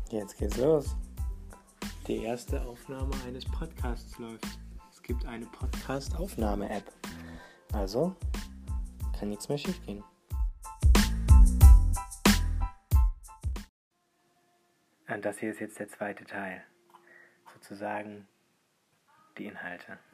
Jetzt geht's los. Die erste Aufnahme eines Podcasts läuft. Es gibt eine Podcast-Aufnahme-App. Also kann nichts mehr schief gehen. Und das hier ist jetzt der zweite Teil. Sozusagen die Inhalte.